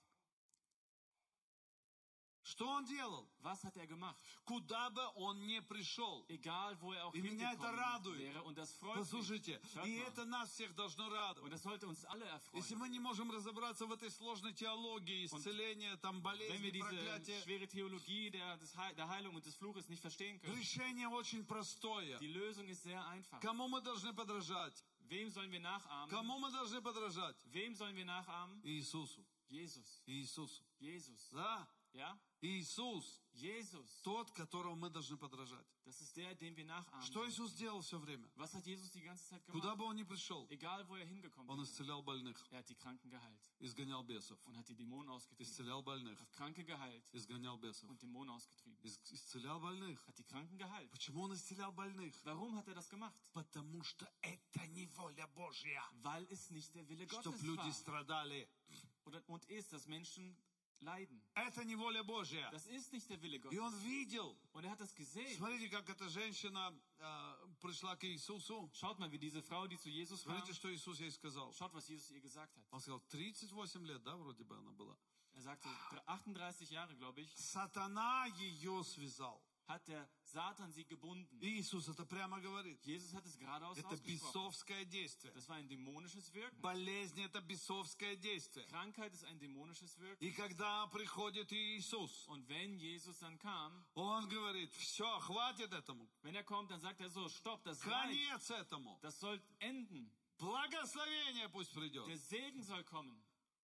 Что Он делал? Was hat er gemacht? Куда бы Он ни пришел. Egal, wo er auch И меня это hingekommen радует. wäre. Und das freut mich. Послушайте, Hört и mal. это нас всех должно радовать. Und das sollte uns alle Если erfreuen. мы не можем разобраться в этой сложной теологии, исцеления, там, Wenn болезни, wir diese проклятия, schwere Theologie der, des Heil, der Heilung und des Fluches nicht verstehen können. решение очень простое. Die Lösung ist sehr einfach. Кому мы должны подражать? Wem sollen wir nachahmen? Кому мы должны подражать? Wem sollen wir nachahmen? Иисусу. Jesus. Иисусу. Jesus. Да? Ja? Иисус, Jesus, тот, которого мы должны подражать. das ist der, den wir nachahmen Что sollen. Иисус делал все время? Was hat Jesus die ganze Zeit Куда gemacht? бы он ни пришел, Egal, wo er hingekommen он ist. исцелял больных, Er hat die Kranken geheilt изгонял бесов, und hat die Dämonen ausgetrieben. исцелял больных, Hat Kranke geheilt изгонял бесов, und Dämonen ausgetrieben. Ис- исцелял больных. Hat die Kranken geheilt. Почему он исцелял больных? Warum hat er das gemacht? Потому что это не воля Божья, Weil es nicht der Wille чтоб Gottes люди war. страдали. Oder, und ist, dass Menschen leiden. Это не воля Божья. Das ist nicht der Wille И Gottes. он видел. Und er hat das gesehen. Смотрите, как эта женщина э, пришла к Иисусу. Schaut mal, wie diese Frau, die zu Jesus kam, Смотрите, что Иисус ей сказал. schaut, was Jesus ihr gesagt hat. Он сказал, тридцать восемь лет, да, вроде бы она была. Er sagte, achtunddreißig Jahre, glaube ich, Сатана ее связал. hat der Satan sie gebunden. И Иисус это прямо говорит. Jesus hat es geradeaus Это ausgesprochen. бесовское действие. Das war ein dämonisches Wirken. Болезнь это бесовское действие. Krankheit ist ein dämonisches Wirken. И когда приходит Иисус, Und wenn Jesus dann kam, он говорит, все, хватит этому. wenn er kommt, dann sagt er so, stopp, das reicht. Конец этому. Das soll enden. Благословение пусть придет. Der Segen soll kommen.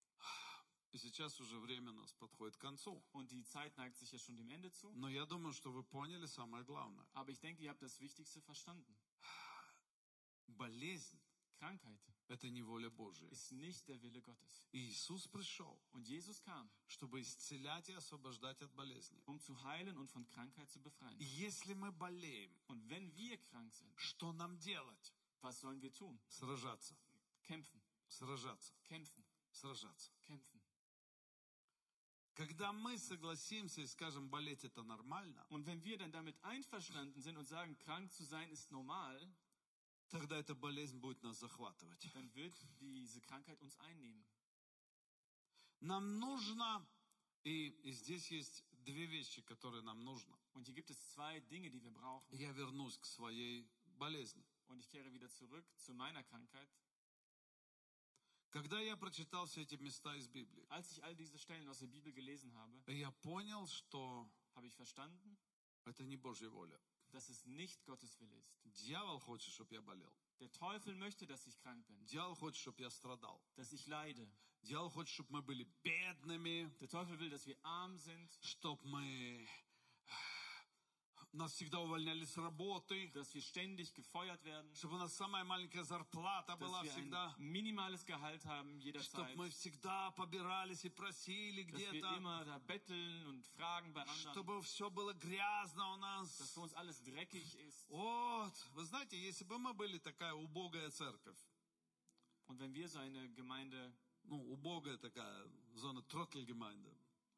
И сейчас уже время у нас подходит к концу. Und die Zeit neigt sich ja schon dem Ende zu. Но я думаю, что вы поняли самое главное. Aber ich denke, ihr habt das Wichtigste verstanden. Болезнь Krankheit – это не воля Божия. ist nicht der Wille Gottes. И Иисус пришел, Und Jesus kam, чтобы исцелять и освобождать от болезни. um zu heilen und von Krankheit zu befreien. И если мы болеем, Und wenn wir krank sind, что нам делать? was sollen wir tun? Сражаться, Kämpfen, сражаться, kämpfen, сражаться. kämpfen. Когда мы согласимся и скажем, болеть это нормально, Und wenn wir dann damit einverstanden sind und sagen, krank zu sein ist normal, тогда эта болезнь будет нас захватывать. dann wird diese Krankheit uns einnehmen. Нам нужно, и, и здесь есть две вещи, которые нам нужно. Und hier gibt es zwei Dinge, die wir brauchen. Я вернусь к своей болезни. Und ich kehre wieder zurück zu meiner Krankheit. Когда я прочитал все эти места из Библии, Als ich all diese Stellen aus der Bibel gelesen habe, я понял, что habe ich verstanden, это не Божья воля. dass es nicht Gottes Wille ist. Дьявол хочет, чтобы я болел. Der Teufel möchte, dass ich krank bin, Дьявол хочет, чтобы я страдал. dass ich leide. Дьявол хочет, чтобы мы были бедными, Der Teufel will, dass wir arm sind, чтобы мы... Нас всегда увольняли с работы, dass wir ständig gefeuert werden, чтобы у нас самая маленькая зарплата была dass wir всегда, ein minimales Gehalt haben чтобы jederzeit, мы всегда побирались и просили dass wir где-то, immer da betteln und fragen bei anderen, чтобы все было грязно у dass нас. für uns alles dreckig ist. Вот, вы знаете, если бы мы были такая убогая церковь, Und wenn wir so eine Gemeinde, ну, убогая такая, зона Тротtelgemeinde,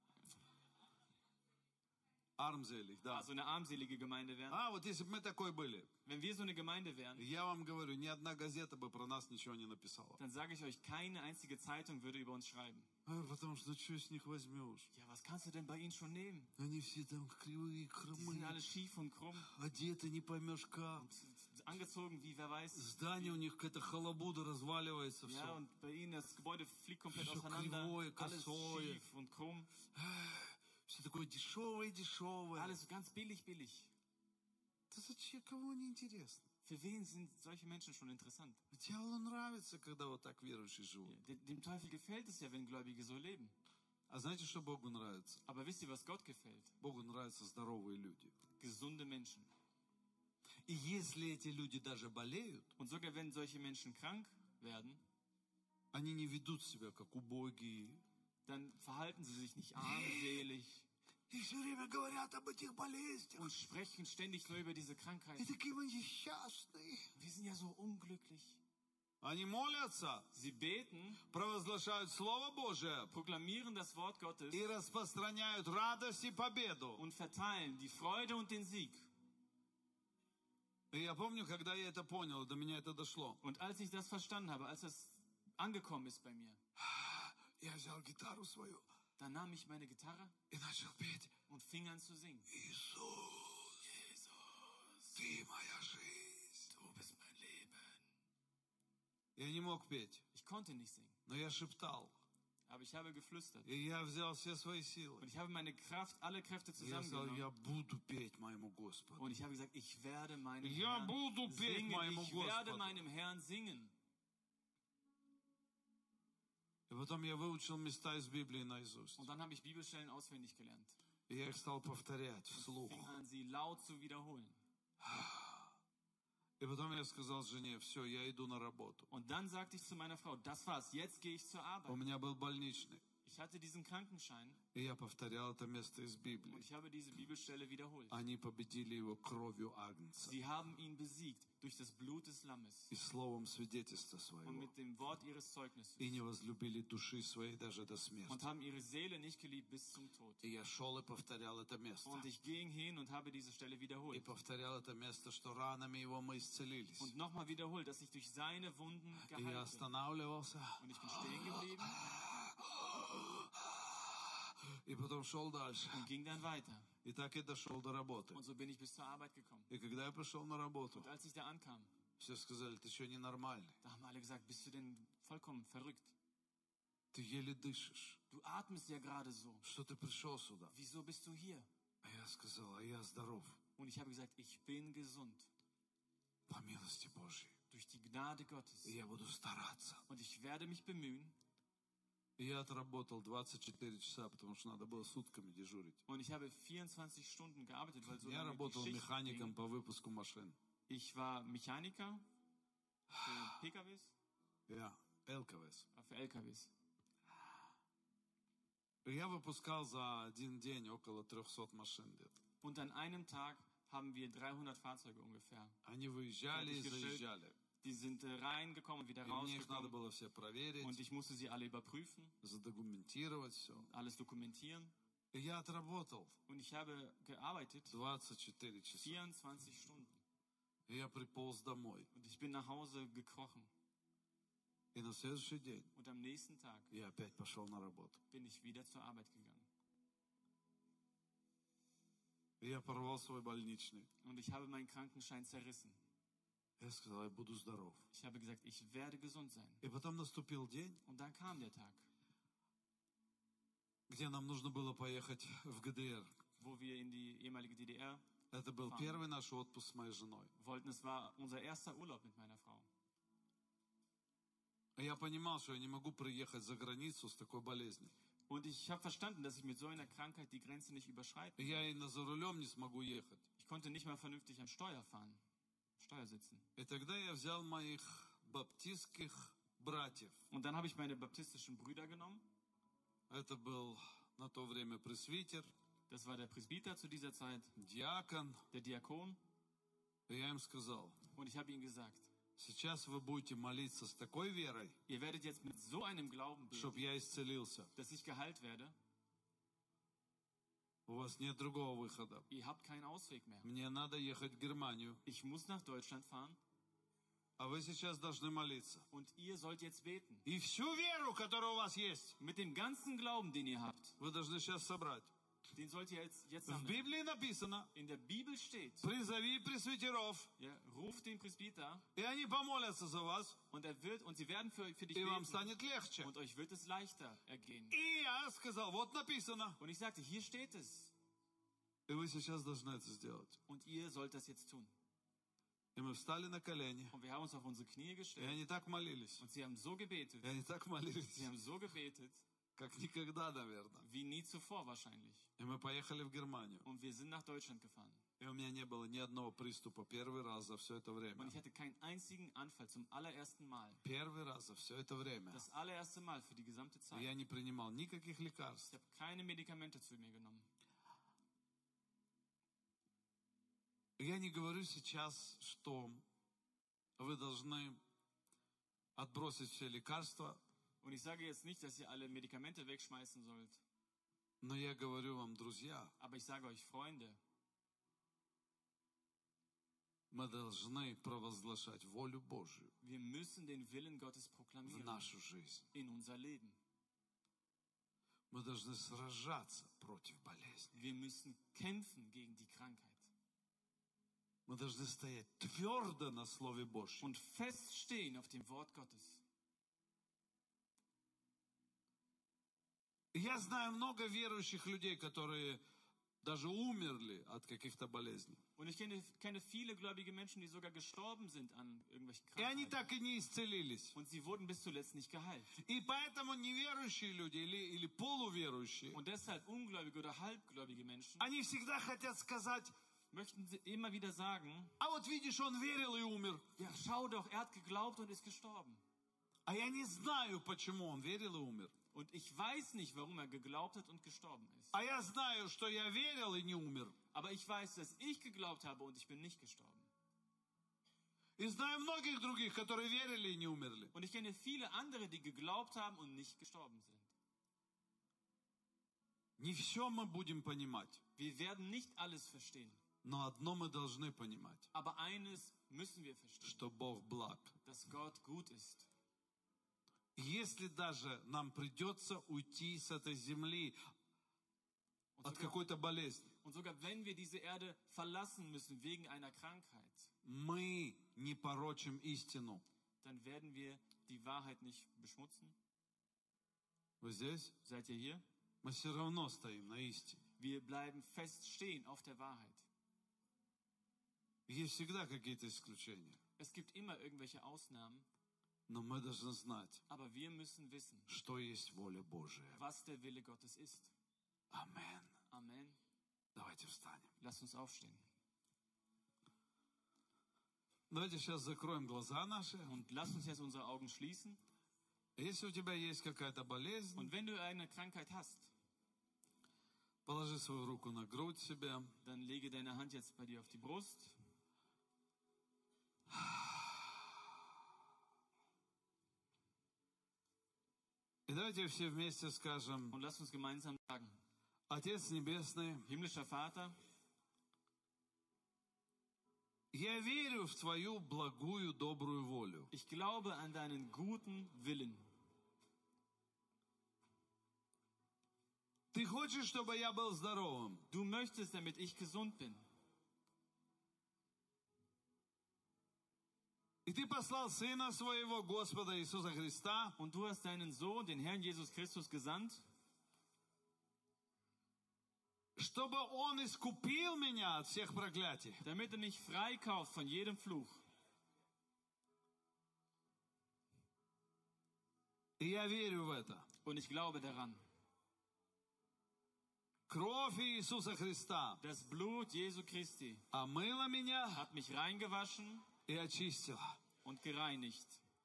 armselig, да. also eine armselige Gemeinde wären, А, вот если бы мы такой были, wenn wir so eine Gemeinde wären, я вам говорю, ни одна газета бы про нас ничего не написала. dann sage ich euch, keine einzige Zeitung würde über uns schreiben. А, потому что, ну, что с них возьмешь? Ja, was kannst du denn bei ihnen schon nehmen? Они все там кривые, Die sind alle хромые, schief und krumm, одеты не поймешь как. angezogen wie wer weiß. Здание у них какая-то халабуда, разваливается Ja, все. und bei ihnen das Gebäude fliegt komplett Всё auseinander. кривое, Alles косое. schief und krumm. Все такое дешевое, дешевое. Alles so ganz billig, billig. Да зачем, кому не интересно? Für wen sind solche Menschen schon interessant? Дьяволу нравится, когда вот так верующие Ja, живут. de- dem Teufel gefällt es ja, wenn Gläubige so leben. А знаете, что Богу нравится? Aber wisst ihr, was Gott gefällt? Богу нравятся здоровые люди. Gesunde Menschen. И если эти люди даже болеют, Und sogar wenn solche Menschen krank werden, они не ведут себя как убогие. dann verhalten sie sich nicht armselig И все время говорят об этих болезнях. und sprechen ständig nur über diese И Krankheit. такие мы несчастные. Wir sind ja so unglücklich. Они молятся, Sie beten, провозглашают Слово Божие proklamieren das Wort Gottes и распространяют радость и победу. und verteilen die Freude und den Sieg. И я помню, когда я это понял, до меня это дошло. Und als ich das verstanden habe, als das angekommen ist bei mir, Я взял гитару свою dann nahm ich meine Gitarre и начал петь. und fing an zu singen. Иисус, Jesus, ты моя жизнь. du bist mein Leben. Я не мог петь, Ich konnte nicht singen, но я шептал. aber ich habe geflüstert. И я взял все свои силы. Und ich habe meine Kraft, alle Kräfte И я сказал, zusammengenommen. я буду петь моему Господу. Und ich habe gesagt, ich werde meinem Я Herrn буду петь singen. моему Ich werde Господу. meinem Herrn singen. И в потом я выучил места из Библии наизусть. Und dann habe ich Bibelstellen auswendig gelernt. И я их стал повторять вслух. Fing an, sie laut zu wiederholen. И потом я сказал жене, все, я иду на работу. Und dann sagte ich zu meiner Frau, das war's, jetzt gehe ich zur У Arbeit. меня был больничный. Ich hatte diesen Krankenschein И я повторял это место из und Библии. ich habe diese Bibelstelle wiederholt. Они победили его кровью Агнца Sie haben ihn besiegt durch das Blut des Lammes и словом свидетельства und своего. mit dem Wort ihres Zeugnisses И не возлюбили души своей даже до und смерти. haben ihre Seele nicht geliebt bis zum Tod. И я шел и повторял это место. Und ich ging hin und habe diese Stelle И wiederholt. повторял это место, что ранами его мы исцелились. Und nochmal wiederholt, dass ich durch seine Wunden И я geheilt bin. останавливался. Und ich bin stehen geblieben И потом шел дальше. und ging dann weiter. И так и дошел до работы. Und so bin ich bis zur Arbeit gekommen. И когда я пришел на работу, Und als ich da ankam, все сказали, ты что, ненормальный? da haben alle gesagt, bist du denn vollkommen verrückt? Ты еле дышишь. Du atmest ja gerade so. Что ты пришел сюда? Wieso bist du hier? А я сказал, а я здоров. Und ich habe gesagt, ich bin gesund. По милости Божьей. Durch die Gnade Gottes. И я буду стараться. Und ich werde mich bemühen. И я отработал двадцать четыре часа, потому что надо было сутками дежурить. Und ich habe vierundzwanzig Stunden gearbeitet, weil so Я lange die работал Schicht механиком ging. по выпуску машин. Ich war Mechaniker für P K Ws, Я ЛКВС. äh, für L K Ws. И я выпускал за один день около трехсот машин где-то. Und an einem Tag haben wir dreihundert Fahrzeuge ungefähr. Они выезжали и заезжали. Die sind äh, reingekommen, wieder И мне их надо rausgekommen. было все проверить, Und ich musste sie alle überprüfen, задокументировать все. alles dokumentieren. И я отработал Und ich habe gearbeitet двадцать четыре часа. vierundzwanzig Stunden. И я приполз домой. Und ich bin nach Hause gekrochen. И на следующий день Und am nächsten Tag я опять пошел на работу. bin ich wieder zur Arbeit gegangen. И я порвал свой больничный. Und ich habe meinen Krankenschein zerrissen. Я сказал, я буду здоров. Ich habe gesagt, ich werde gesund sein. И потом наступил день, Und dann kam der Tag, где нам нужно было поехать в ГДР. wo wir in die ehemalige D D R Это был Фан. первый наш отпуск с моей женой. wollten. Es war unser erster Urlaub mit meiner Frau. И я понимал, что я не могу приехать за границу с такой болезнью. Und ich habe verstanden, dass ich mit so einer Krankheit die Grenze nicht überschreiten. И я и на за рулем не смогу ехать. Ich konnte nicht mal vernünftig am Steuer fahren, Steuer sitzen. И тогда я взял моих баптистских братьев. Und dann habe ich meine baptistischen Brüder genommen. Это был на то время пресвитер, Das war der Presbyter zu dieser Zeit, диакон. der Diakon. И я им сказал, Und ich habe ihm gesagt, сейчас вы будете молиться с такой верой, ihr werdet jetzt mit so einem Glauben beten, чтобы я исцелился. dass ich geheilt werde. У вас нет другого выхода. Ihr habt keinen Ausweg mehr. Мне надо ехать в Германию, Ich muss nach Deutschland fahren а вы сейчас должны молиться. und ihr sollt jetzt beten. И всю веру, которая у вас есть, Mit dem ganzen Glauben, den ihr habt, вы должны сейчас собрать. den sollt ihr jetzt, jetzt В sammeln. Библии написано, In der Bibel steht, призови пресвитеров, ja, ruft den Presbyter и они помолятся за вас, und er wird und sie werden für, für dich и вам beten станет легче. und euch wird es leichter ergehen. И я сказал, вот написано. Und ich sagte, hier steht es И вы сейчас должны это сделать. und ihr sollt das jetzt tun. И мы встали на колени, Und wir haben uns auf unsere Knie и gestellt они так молились. und sie haben so gebetet, И они так молились, sie haben so gebetet, как никогда, наверное. wie nie zuvor wahrscheinlich. И мы поехали в Германию. Und wir sind nach Deutschland gefahren. И у меня не было ни одного приступа первый раз за все это Und время. ich hatte keinen einzigen Anfall zum allerersten Mal. Первый раз за все это время. Das allererste Mal für die gesamte И Zeit. я не принимал никаких лекарств. Ich habe keine Medikamente zu mir genommen. Я не говорю сейчас, что вы должны отбросить все лекарства, Und ich sage jetzt nicht, dass ihr alle Medikamente wegschmeißen sollt. но я говорю вам, друзья, Aber ich sage euch, Freunde, мы должны провозглашать волю Божью wir müssen den Willen Gottes в proklamieren нашу жизнь. in unser Leben. Мы должны сражаться против болезни. Wir müssen kämpfen gegen die Krankheit. Мы должны стоять твердо на Слове Божьем. Und feststehen auf dem Wort Gottes. Я знаю много верующих людей, которые даже умерли от каких-то болезней. Und ich kenne, kenne viele gläubige Menschen, die sogar gestorben sind an irgendwelchen И они Krankheiten. так и не исцелились. Und sie wurden bis zuletzt nicht geheilt. И поэтому неверующие люди или, или полуверующие, Und deshalb ungläubige oder halbgläubige Menschen они всегда хотят сказать, möchten sie immer wieder sagen, а вот видишь, он верил и умер. ja, schau doch, er hat geglaubt und ist gestorben. А я не знаю, почему он верил и умер. Und ich weiß nicht, warum er geglaubt hat und gestorben ist. А я знаю, что я верил и не умер. Aber ich weiß, dass ich geglaubt habe und ich bin nicht gestorben. И знаю многих других, которые верили и не умерли. Und ich kenne viele andere, die geglaubt haben und nicht gestorben sind. Не все мы будем понимать, Wir werden nicht alles verstehen. но одно мы должны понимать, Aber eines müssen wir verstehen, что Бог благ. dass Gott gut ist. Если даже нам придется уйти с этой земли Und от sogar, какой-то болезни, und sogar wenn wir diese Erde verlassen müssen wegen einer Krankheit, мы не порочим истину. dann werden wir die Wahrheit nicht beschmutzen. Вы здесь? Seid ihr hier? Мы все равно стоим на истине. Wir bleiben fest stehen auf der Wahrheit. Есть всегда какие-то исключения. Es gibt immer irgendwelche Ausnahmen, Но мы должны знать, aber wir müssen wissen, что есть воля Божия. was der Wille Gottes ist. Амен. Amen. Давайте встанем. Lasst uns aufstehen. Давайте сейчас закроем глаза наши. Und lasst uns jetzt unsere Augen schließen. Если у тебя есть какая-то болезнь, Und wenn du eine Krankheit hast, положи свою руку на грудь себе. dann lege deine Hand jetzt bei dir auf die Brust. И давайте все вместе скажем: Und lasst uns gemeinsam sagen, Отец Небесный, himmlischer Vater, я верю в Твою благую, добрую волю. ich glaube an deinen guten Willen. Ты хочешь, чтобы я был здоровым? Du möchtest, damit ich gesund bin. И Ты послал Сына Своего, Господа Иисуса Христа, Und du hast deinen Sohn, den Herrn Jesus Christus, gesandt, чтобы Он искупил меня от всех проклятий. damit er mich freikauft von jedem Fluch. И я верю в это. Und ich glaube daran. Кровь Иисуса Христа Das Blut Jesu Christi омыла меня hat mich reingewaschen и очистила. und gereinigt.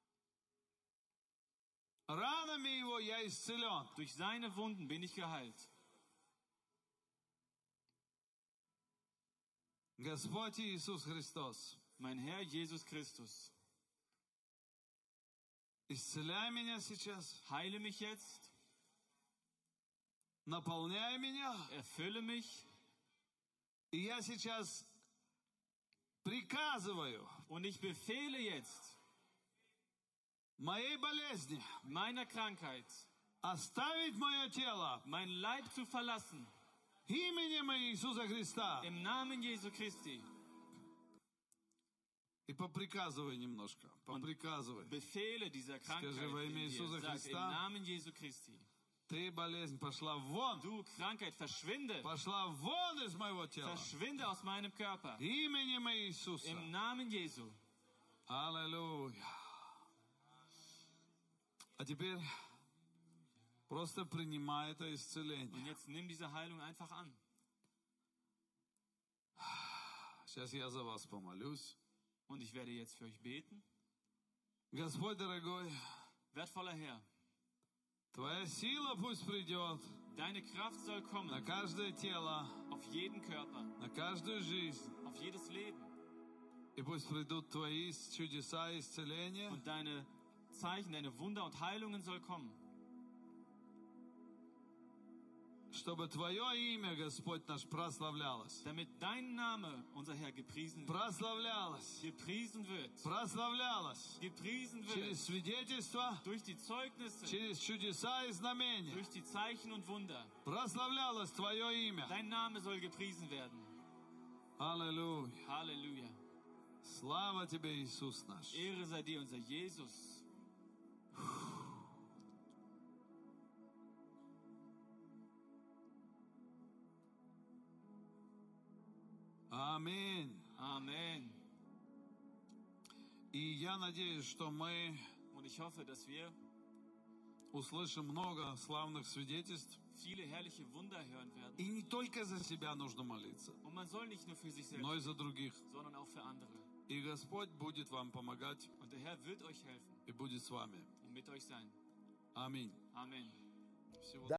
Ранами Его я исцелен. Durch seine Wunden bin ich geheilt. Господь Иисус Христос, Mein Herr Jesus Christus, исцеляй меня сейчас, heile mich jetzt, наполняй меня. erfülle mich. И я сейчас приказываю Und ich befehle jetzt моей болезни meiner Krankheit, оставить мое тело mein Leib zu verlassen, именем Иисуса Христа. im Namen Jesu Christi. И поприказывай немножко, поприказывай. Befehle dieser Krankheit Скажи во имя in dir. Иисуса Sag, im Христа, Namen Jesu Christi. ты, болезнь, пошла вон, Du Krankheit, verschwinde. пошла вон из моего тела. Verschwinde aus meinem Körper. Именем Иисуса. Im Namen Jesu. Аллилуйя. А теперь просто принимай это Und исцеление. jetzt nimm diese Heilung einfach an. Сейчас я за вас помолюсь. Und ich werde jetzt für euch beten. Господь дорогой, Wertvoller Herr, Твоя сила пусть придет deine Kraft soll на kommen каждое тело, auf jeden Körper, на каждую жизнь. auf jedes Leben. И пусть придут Твои чудеса и исцеления. Und deine Zeichen, deine Wunder und Heilungen soll kommen. Чтобы Твое имя, Господь наш, прославлялось. Damit dein Name, unser Herr, gepriesen wird. Прославлялось. Gepriesen wird. Прославлялось. Gepriesen wird. Через свидетельства, Durch die Zeugnisse, через чудеса и знамения. durch die Zeichen und Wunder. Прославлялось Твое имя. Dein Name soll gepriesen werden. Аллилуйя. Halleluja. Слава Тебе, Иисус наш. Ehre sei dir, unser Jesus. Аминь. Amen. И я надеюсь, что мы Und ich hoffe, dass wir услышим много славных свидетельств. viele herrliche Wunder hören werden. И не только за себя нужно молиться, Und man soll nicht nur für sich selbst, но и за других. sondern auch für andere. И Господь будет вам помогать Und der Herr wird euch helfen и будет с вами. und mit euch sein. Аминь. Amen. Всего